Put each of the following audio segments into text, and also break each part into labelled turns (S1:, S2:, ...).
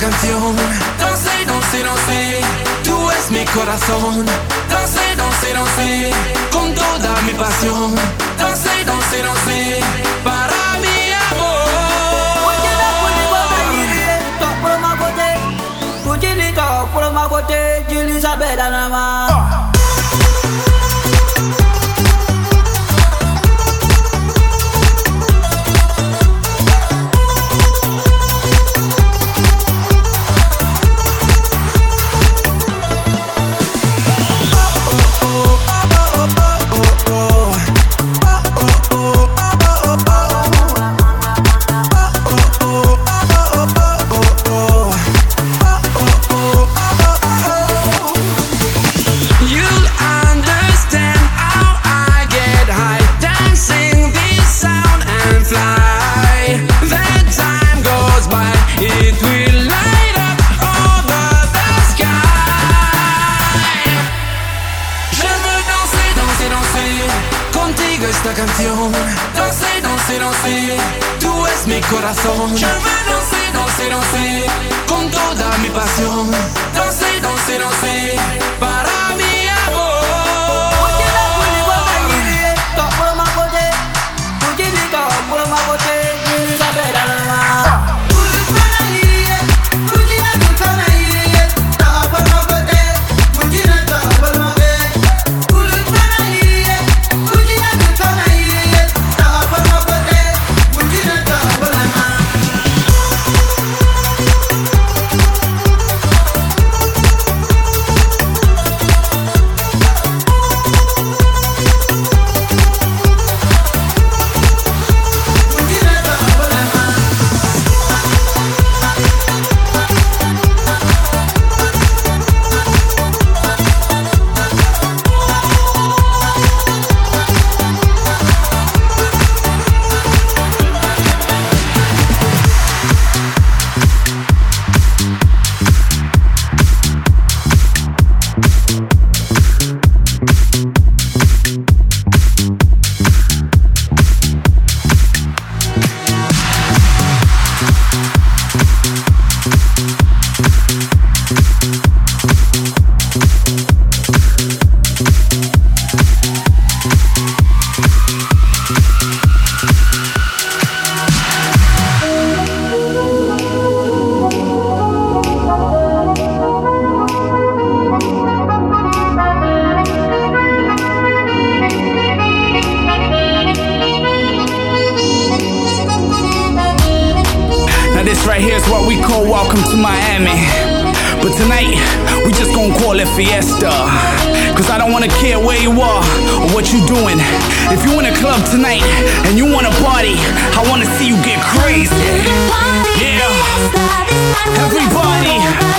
S1: canción. Danse, danse, danse, tú es mi corazón. Danse, danse, danse, con toda mi pasión. Danse, danse, danse, para mi amor. Esta canción, danse, danse, danse, tú es mi corazón. Je veux danser, danser, danser, con toda mi pasión. Danse, danse, danse, para mi amor.
S2: This right here is what we call welcome to Miami. But tonight, we just gonna call it fiesta. Cause I don't wanna care where you are or what you doing. If you in a club tonight and you wanna party, I wanna see you get crazy. Yeah, everybody.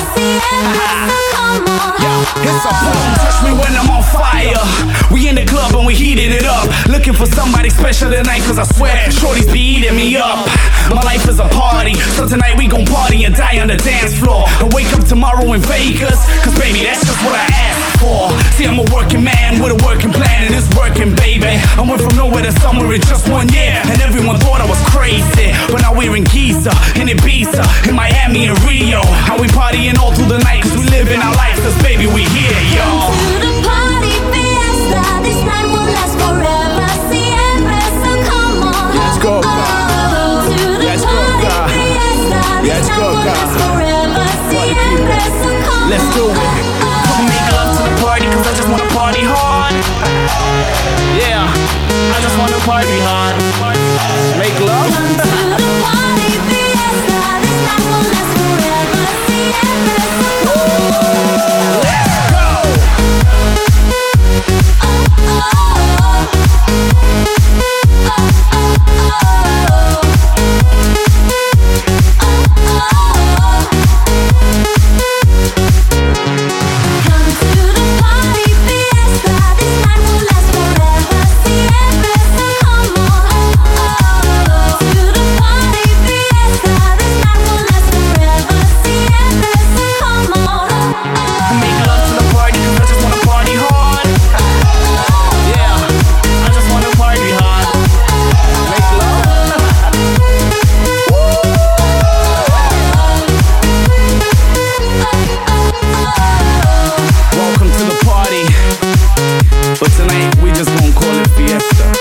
S2: It's a boom, touch me when I'm on fire. We in the club and we heating it up. Looking for somebody special tonight, cause I swear shorties be eating me up. My life is a party, so tonight we gon' party and die on the dance floor. And wake up tomorrow in Vegas, cause baby that's just what I asked for. See, I'm a working man with a working plan and it's working, baby. I went from nowhere to somewhere in just 1 year, and everyone thought I was crazy. But now we're in Giza, in Ibiza, in Miami and Rio. And we partying all through the night, cause we living our life, cause baby we here, y'all.
S3: To the party fiesta, this night will last forever. Siempre, so come on.
S2: Let's go,
S3: To the
S2: Let's go,
S3: party
S2: God.
S3: fiesta, this
S2: Let's
S3: night
S2: go,
S3: will
S2: God.
S3: last forever. Siempre, so come
S2: Let's do it. Come make love to the party, cause I just wanna party hard. Yeah, I just wanna party hard. Make love.
S3: To the party fiesta, this night will last forever. Siempre, so come on.
S2: Let's go.
S3: To the
S2: Welcome to the party, but tonight we just gonna call it fiesta.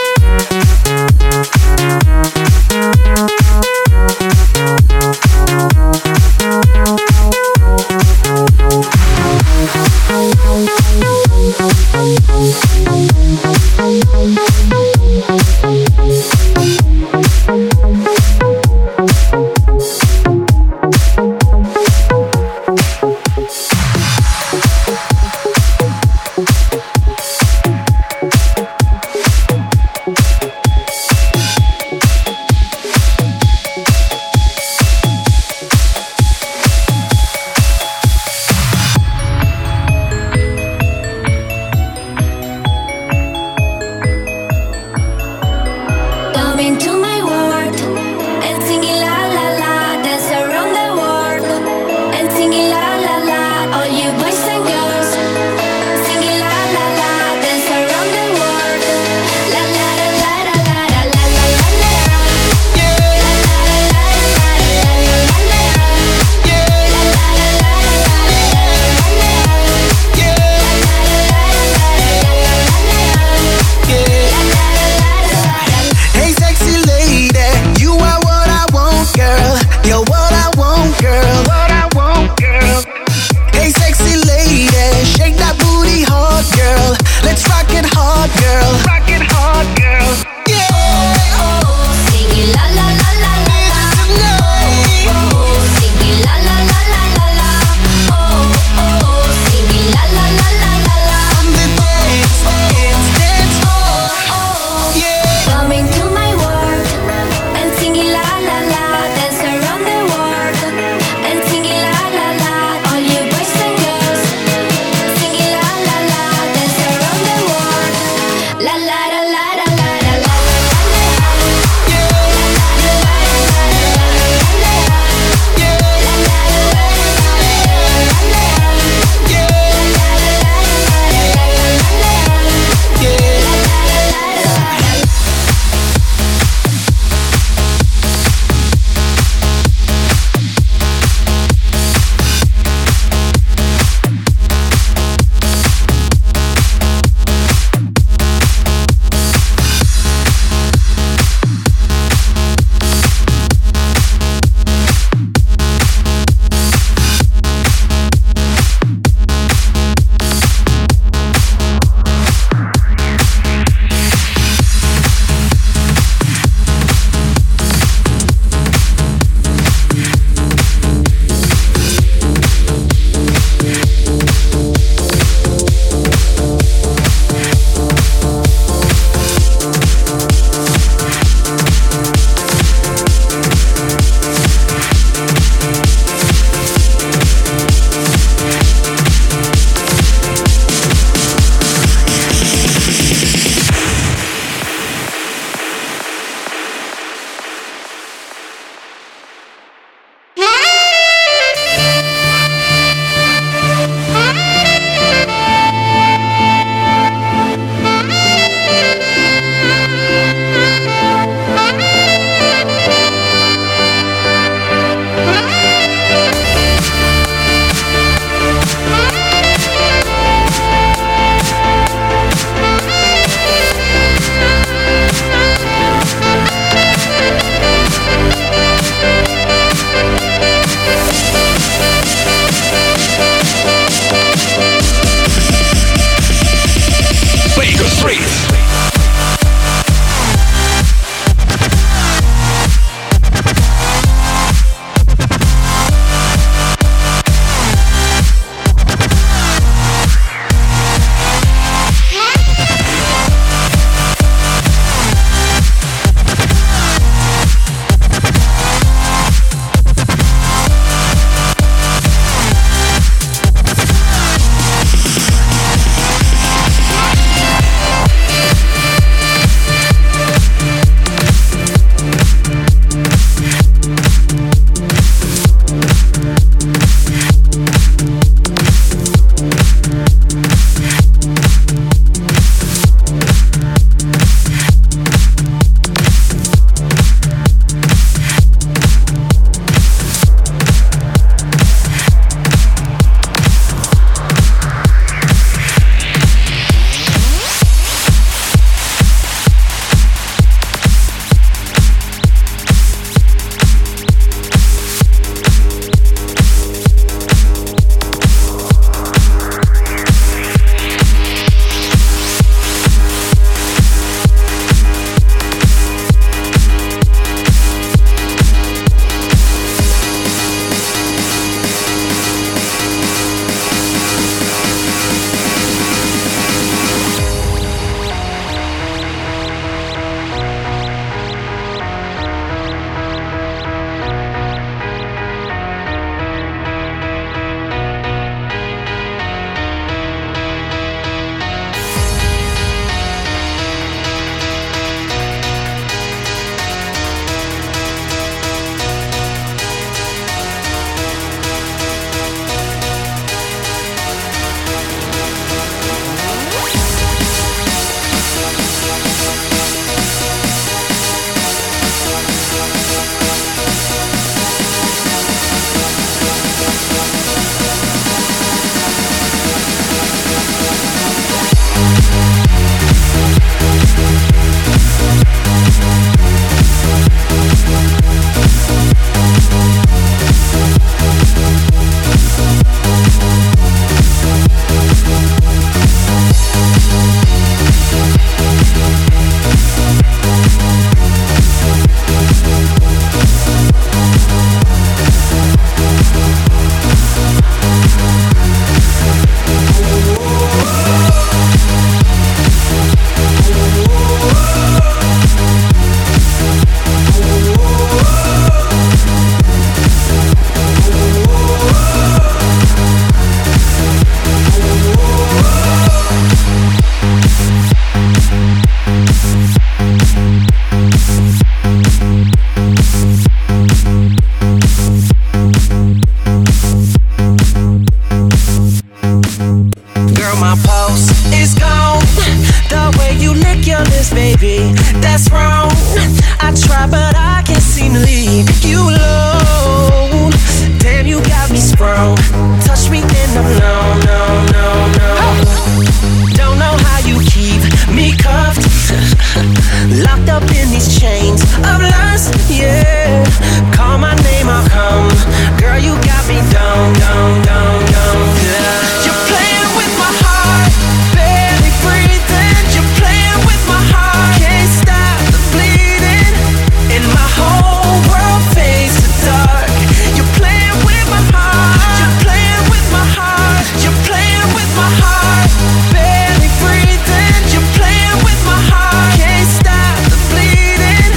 S4: this, baby. That's wrong. I try, but I can't seem to leave you alone. Damn, you got me sprung. Touch me and I'm no, no, no, no. Don't know how you keep me cuffed, locked up in these chains of lust, yeah. Call my name, I'll come. Girl, you got me down, down, down, down, yeah. You're playing with my heart, barely breathing. You're playing with my heart, can't stop the bleeding. And my whole world fades to dark. You're playing with my heart, you're playing with my heart, you're playing with my heart, barely breathing. You're playing with my heart, can't stop the bleeding.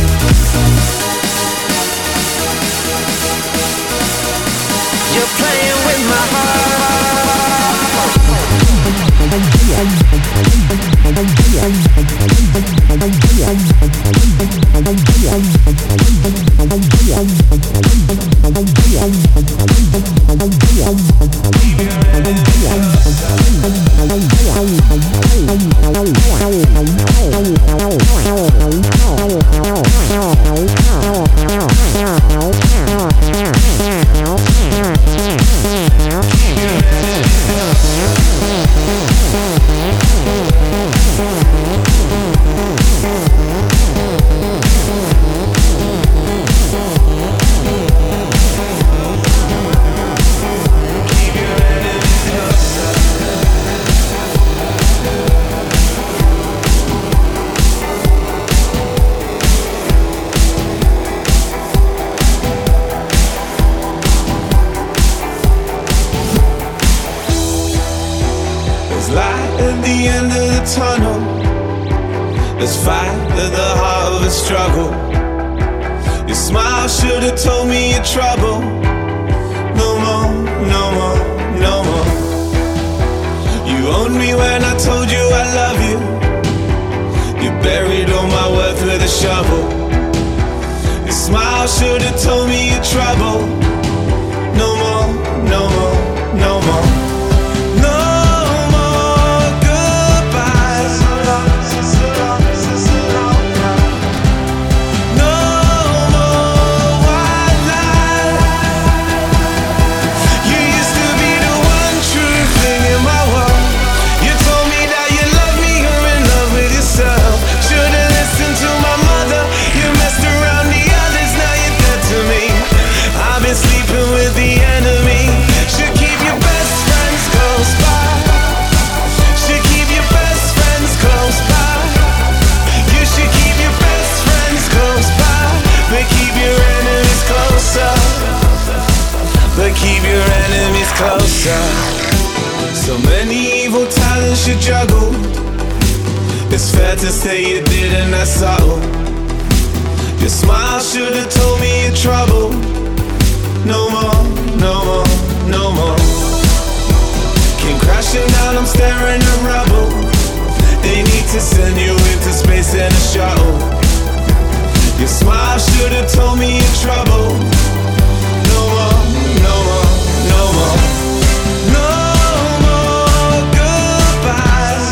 S4: You're playing with my heart.
S5: So many evil talents you juggle. It's fair to say you didn't, that's subtle. Your smile should've told me you're trouble. No more, no more, no more. Came crashing down, I'm staring at rubble. They need to send you into space in a shuttle. Your smile should've told me you're trouble. No more, no more, no more. No more goodbyes.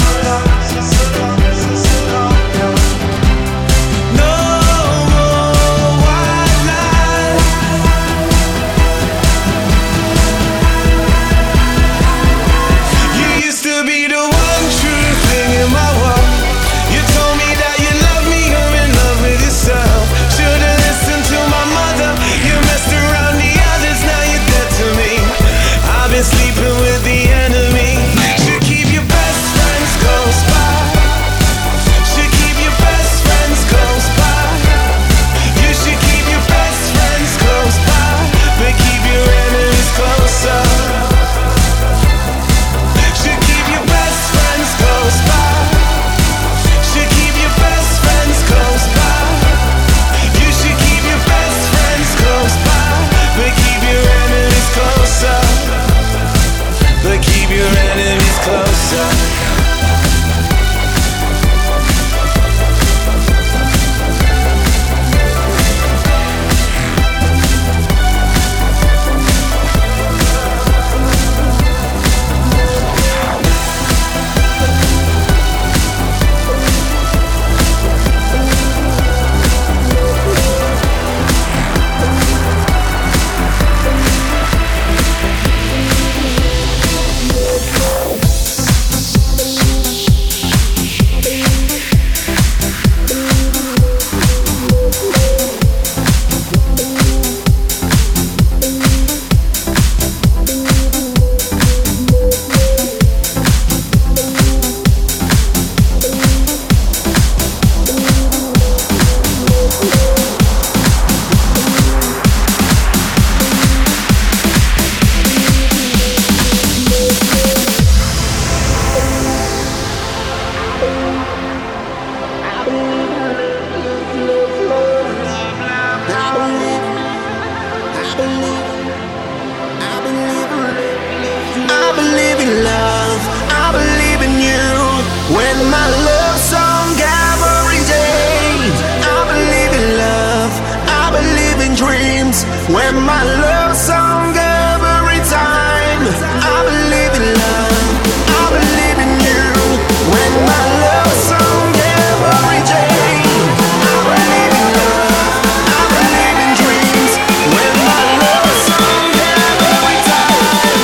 S5: No more white lies. You used to be the one true thing in my world. You told me that you love me, you're in love with yourself. Should've listened to my mother. You messed around the others, now you're dead to me. I've been sleeping with the enemy. Should keep your best friends close by. Should keep your best friends close by. You should keep your best friends close by, but keep your enemies closer. Should keep your best friends close by. Should keep your best friends close by. You should keep your best friends close by, but keep your enemies closer. But keep your enemies closer.
S4: When my love song every day. I believe in love, I believe in dreams. When my love song every time. I believe in love, I believe in you. When my love song every day. I believe in love, I believe in dreams. When my love song every time.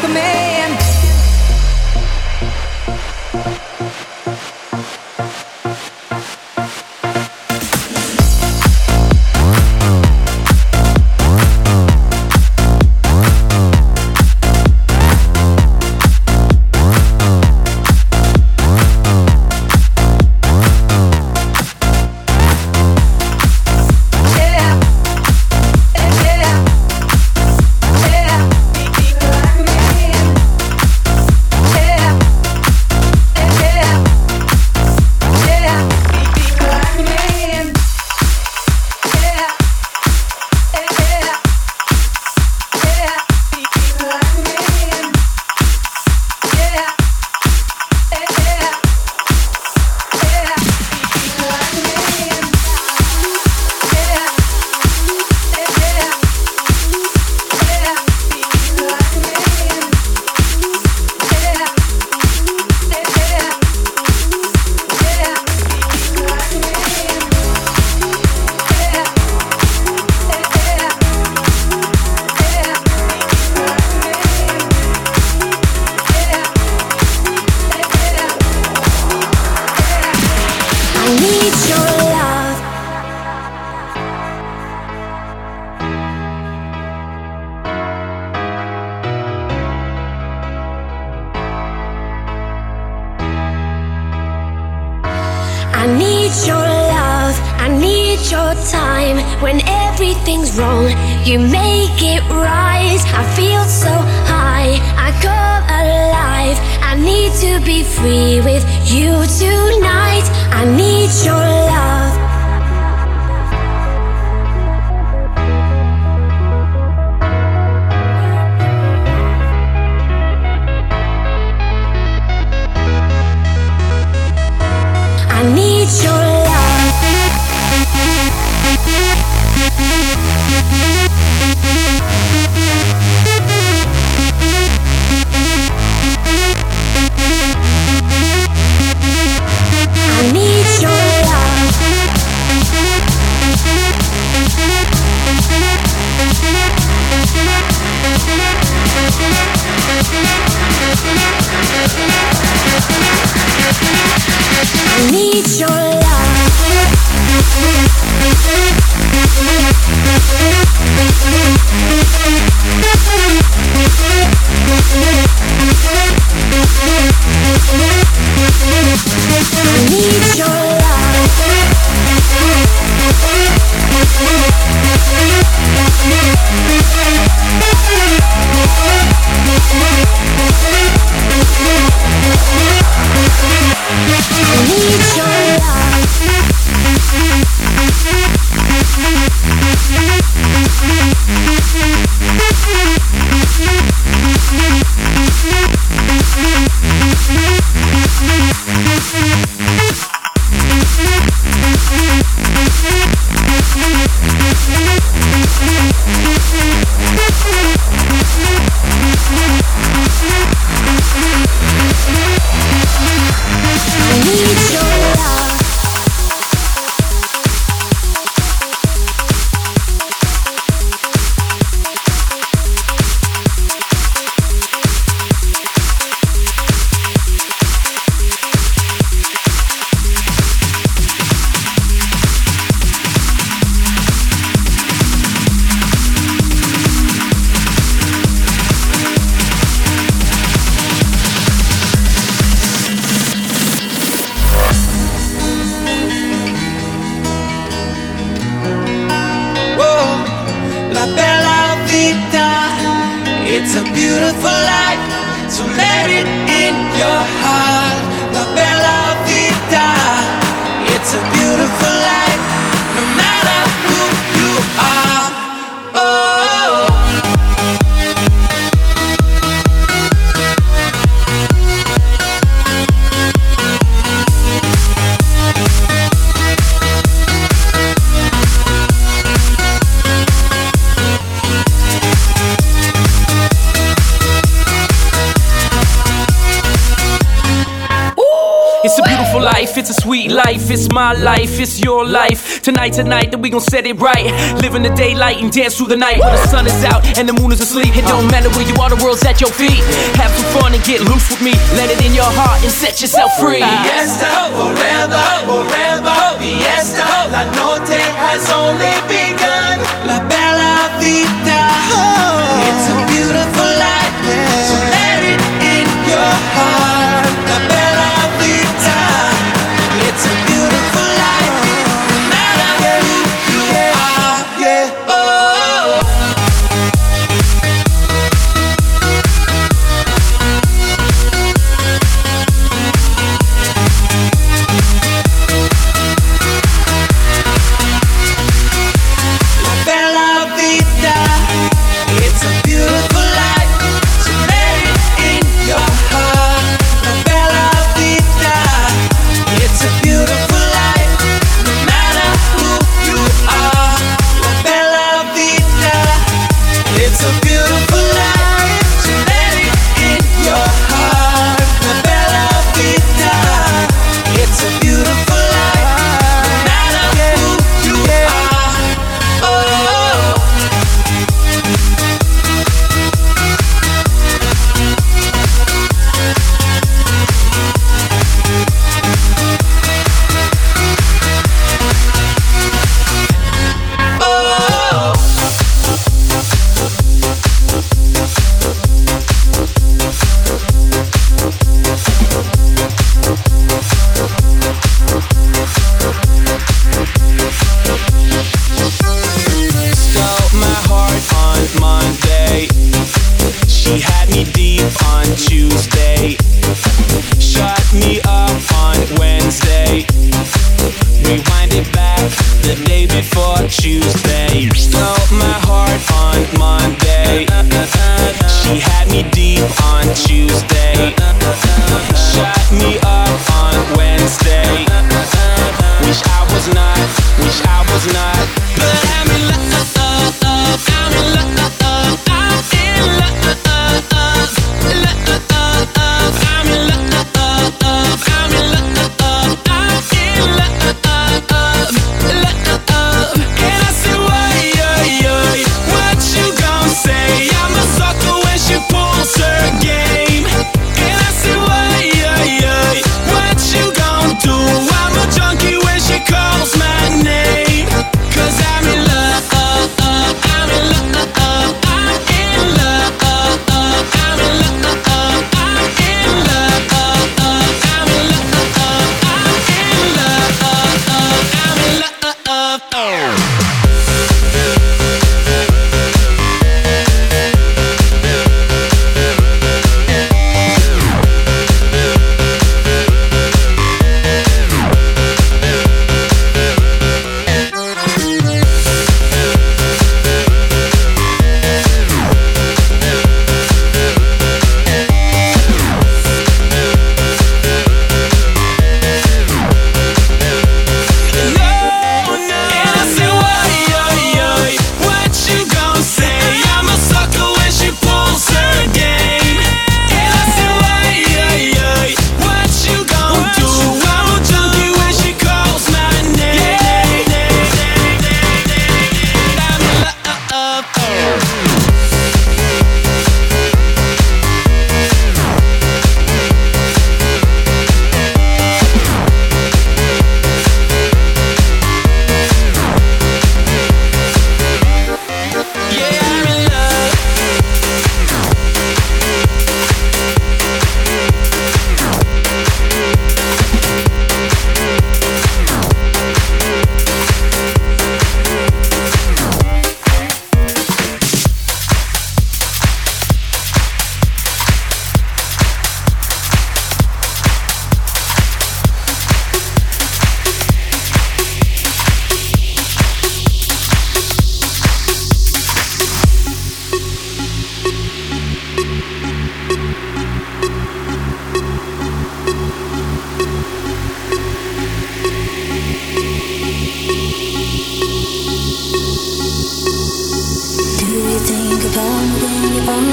S6: a man.
S3: I need your love, I need your time. When everything's wrong, you make it right. I feel so high, I come alive. I need to be free with you tonight. I need your love. I need your love. I need your love. I need your love. I need your I need your
S1: It's a beautiful life, so let it in your heart. La bella vita. It's a beautiful life, no matter who you are. Oh.
S2: It's a beautiful life, it's a sweet life, it's my life, it's your life. Tonight, that we gon' set it right. Live in the daylight and dance through the night. When the sun is out and the moon is asleep, it don't matter where you are, the world's at your feet. Have some fun and get loose with me. Let it in your heart and set yourself free.
S4: Fiesta, forever, forever. Fiesta, la noche has only begun. La bella vita, it's a beautiful life, so let it in your heart. La bella vita, it's a beautiful life, no matter who you are, yeah, oh. La bella vita, it's a beautiful life, so let it in your heart. La bella vita, it's a beautiful life, no matter who you are. La bella vita, it's a beautiful life, so let it in your heart. La bella vita, it's a beautiful life, no matter who you are. Oh. Stole my heart on Monday. She had me deep on Tuesday. Shut me up on Wednesday. Rewind it back the day before Tuesday. Stole my heart on Monday. She had me deep on Tuesday. Shut me up on Wednesday. Wish I was not, wish I was not. But I'm in love, I'm in love, I'm in love, I'm in love, I'm in love, I'm in love. And I said, what you gon' say? I'm a sucker when she pulls her game. And I said, what you gon' do? I'm a junkie when she calls my name. 'Cause I'm in love, I'm in love, I'm in love, I'm in love, I'm in love, I'm in love, I'm in love.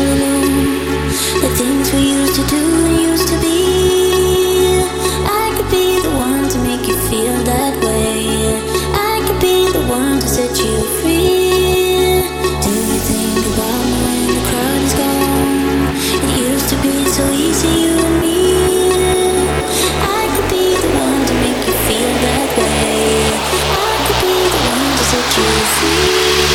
S3: The things we used to do and used to be, I could so easy, you and me. I could be the one to make you feel that way. I could be the one to set you free.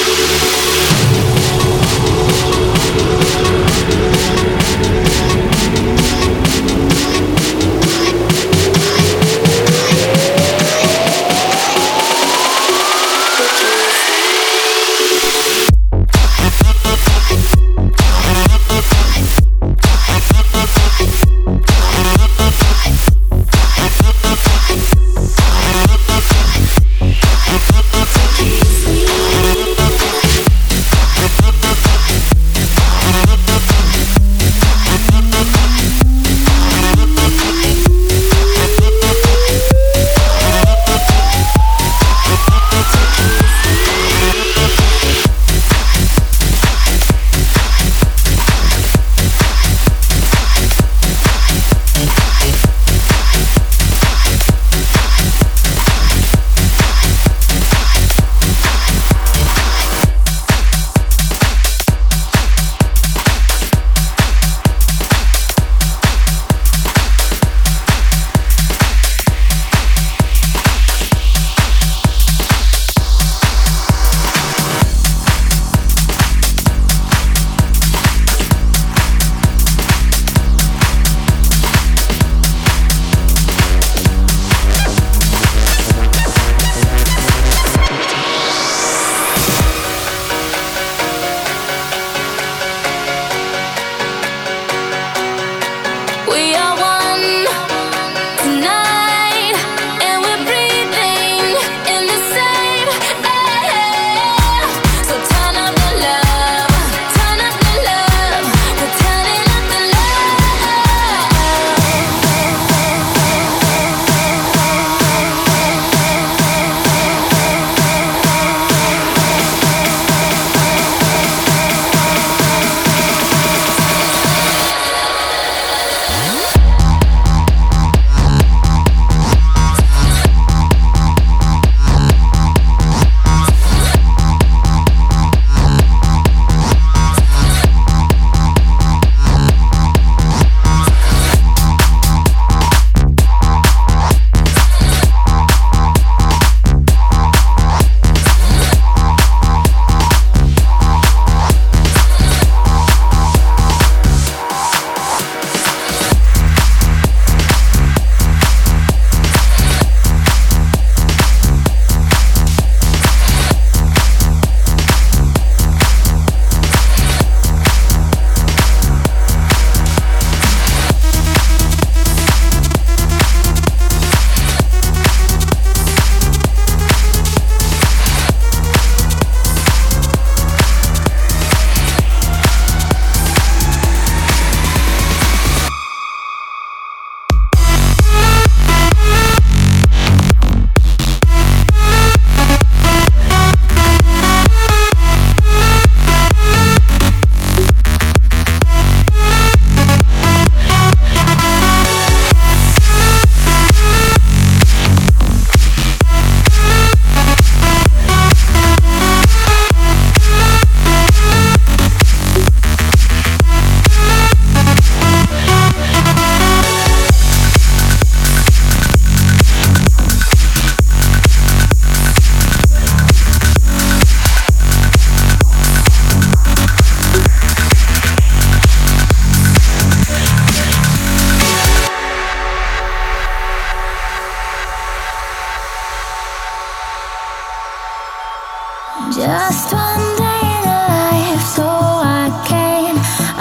S3: Just one day in life, so I can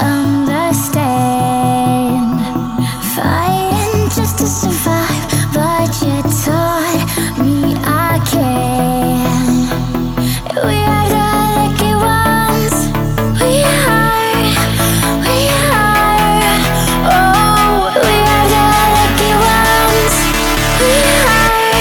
S3: understand. Fighting just to survive, but you taught me I can. We are the lucky ones. We are. Oh, we are the lucky ones. We are.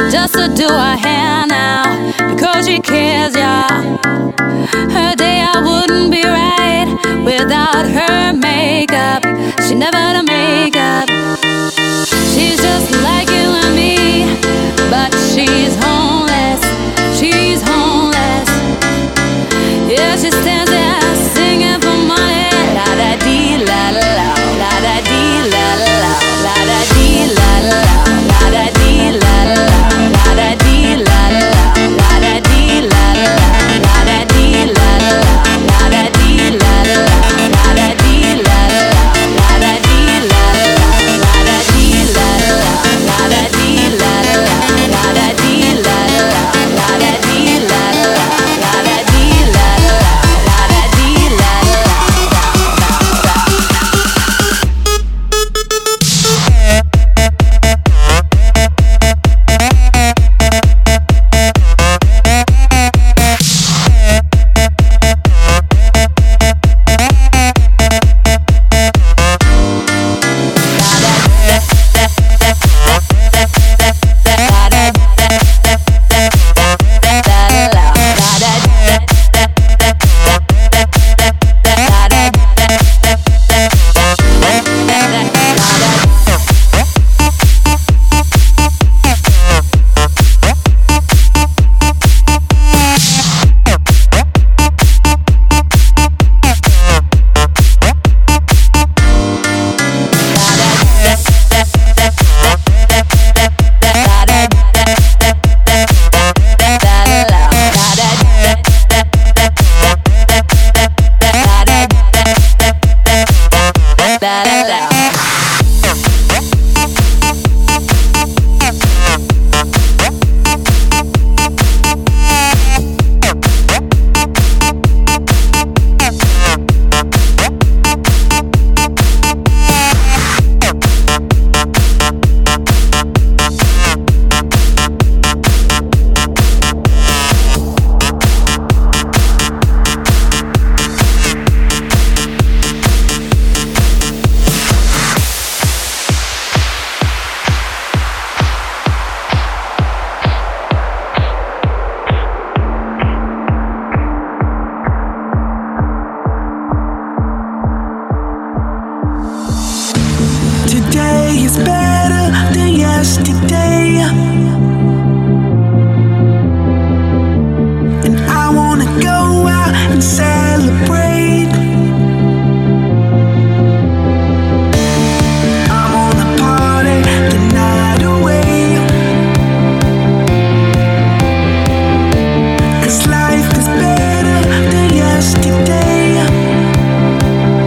S6: just to do her hair now, because she cares, yeah. Her day I wouldn't be right without her makeup. She never had a makeup. She's just like you and me, but she's homeless. She's homeless. Yeah, she stands there singing for money. La da dee la la la, la da dee la la la, la da dee la la la, la da dee la la la, la da dee la la la, la da dee la la la, la da dee la la la, la da dee la la la, la da dee la la la, la da dee la la la, la da dee la la la, la da dee la la la, la da dee la la la, la da dee la la la, la da dee la la la, la da dee la la la.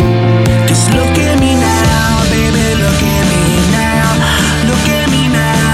S7: Look at me now,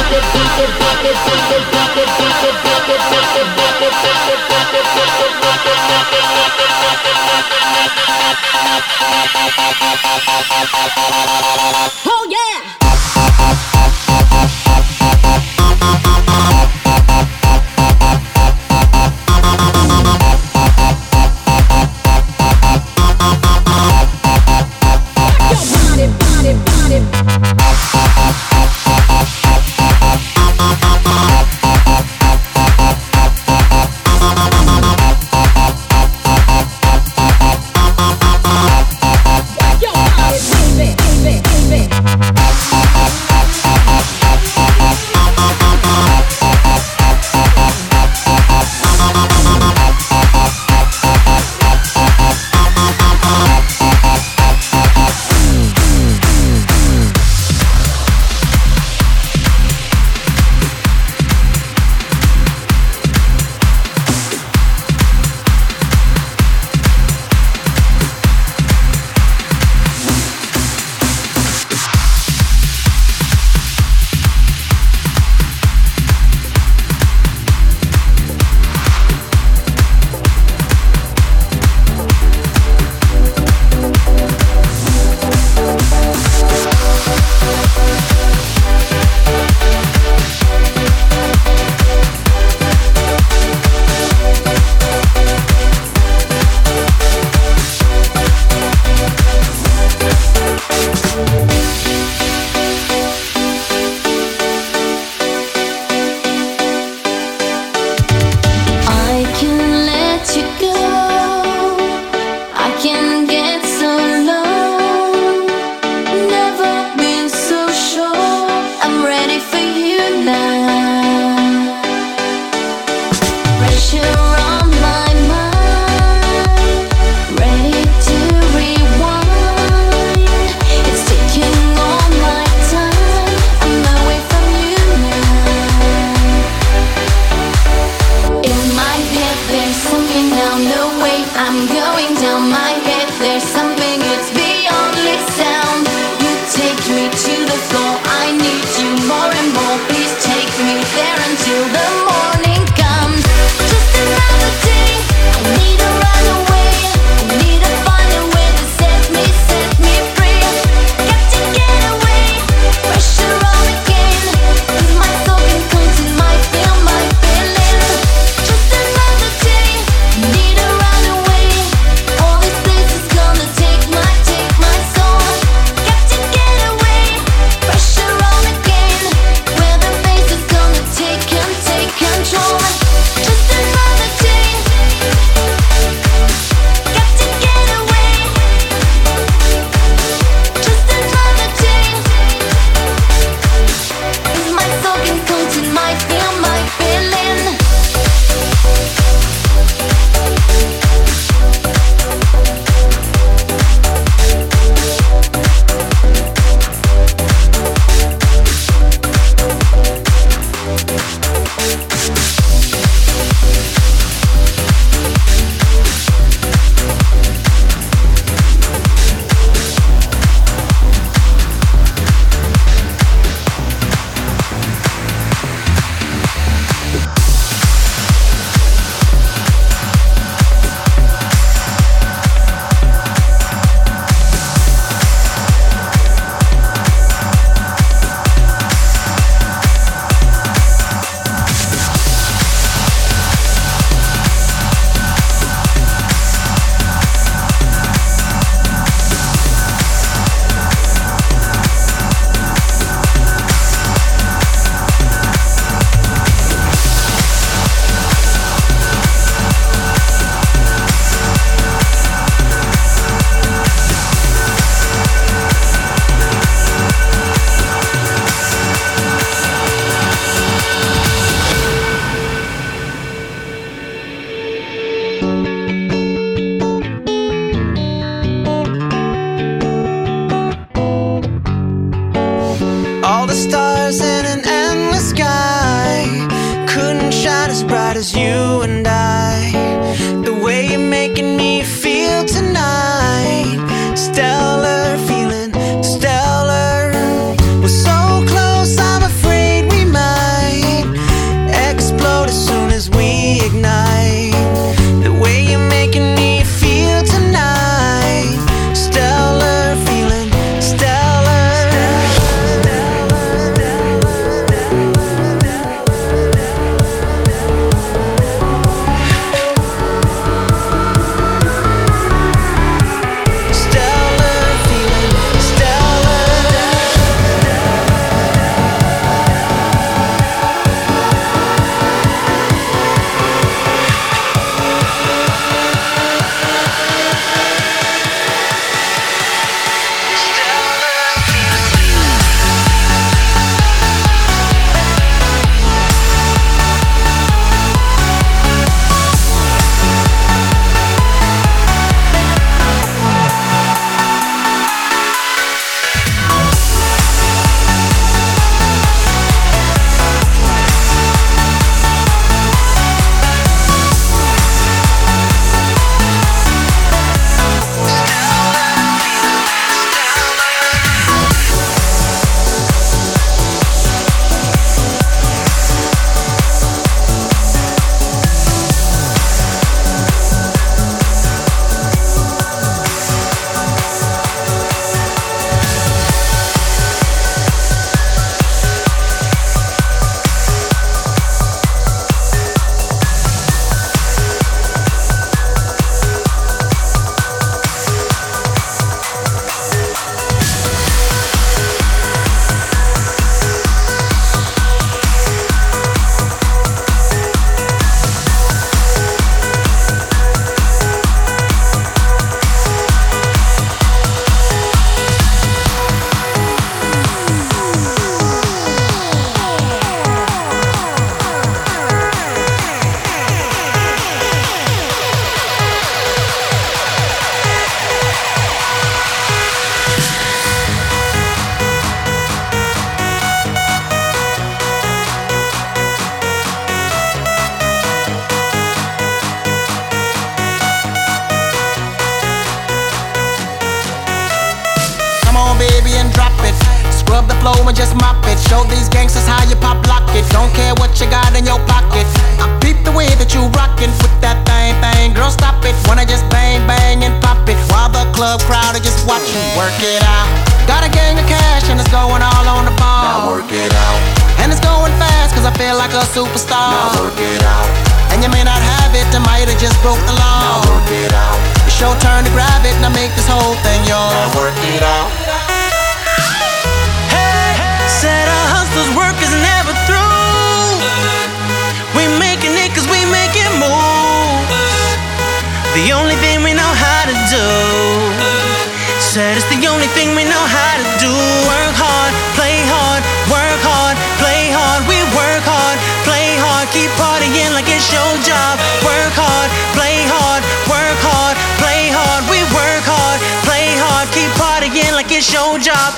S3: Oh yeah!
S4: as you and I. The way you're making me feel tonight, stellar, feeling stellar. We're so close, I'm afraid we might
S7: just mop it. Show these gangsters how you pop lock it. Don't care what you got in your pocket. I peep the way that you rockin' with that thing. Girl, stop it. Wanna just bang, bang and pop it while the club crowd are just watching. Work it out. Got a gang of cash and it's going all on the ball.
S8: Now work it out.
S7: And it's going fast cause I feel like a superstar.
S8: Now work it out.
S7: And you may not have it, I might have just broke the law.
S8: Now work it out.
S7: It's your turn to grab it and I make this whole thing yours.
S8: Now work it out.
S4: Hey, said our hustler's work is never through. We making it cause we make it move. The only thing we know how to do. Said it's the only thing we know how to do. Work hard, play hard, work hard, play hard. We work hard, play hard, keep partying like it's your job. Work hard, play hard, work hard, play hard. We work hard, play hard, keep partying like it's your job.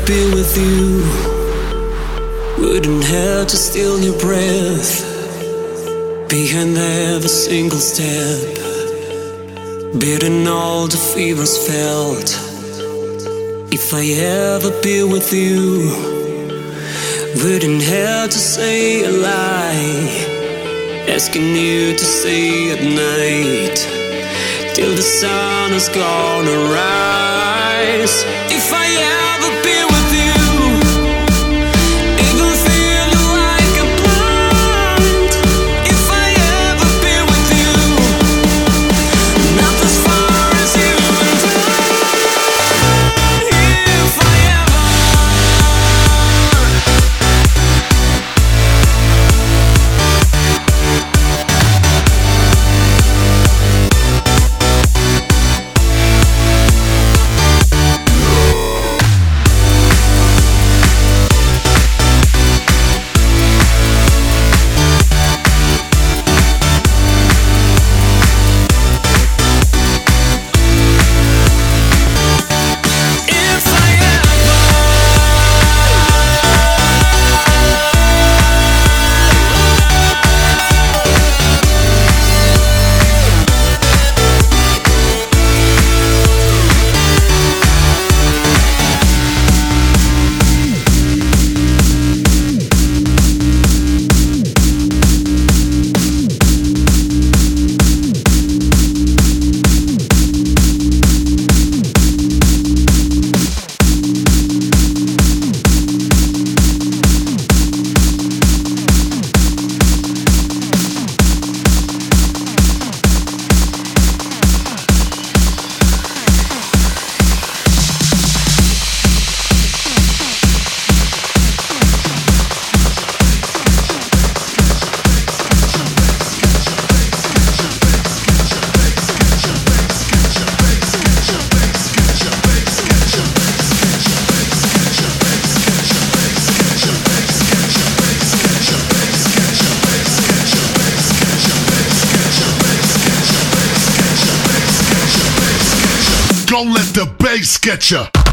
S9: be with you, wouldn't have to steal your breath behind every single step, beating all the fevers felt. If I ever be with you, wouldn't have to say a lie, asking you to stay at night till the sun is gonna rise. If I ever be with you, even feeling like a blind. If I ever be with you, not as far as you and I. If I
S10: Don't let the bass get ya.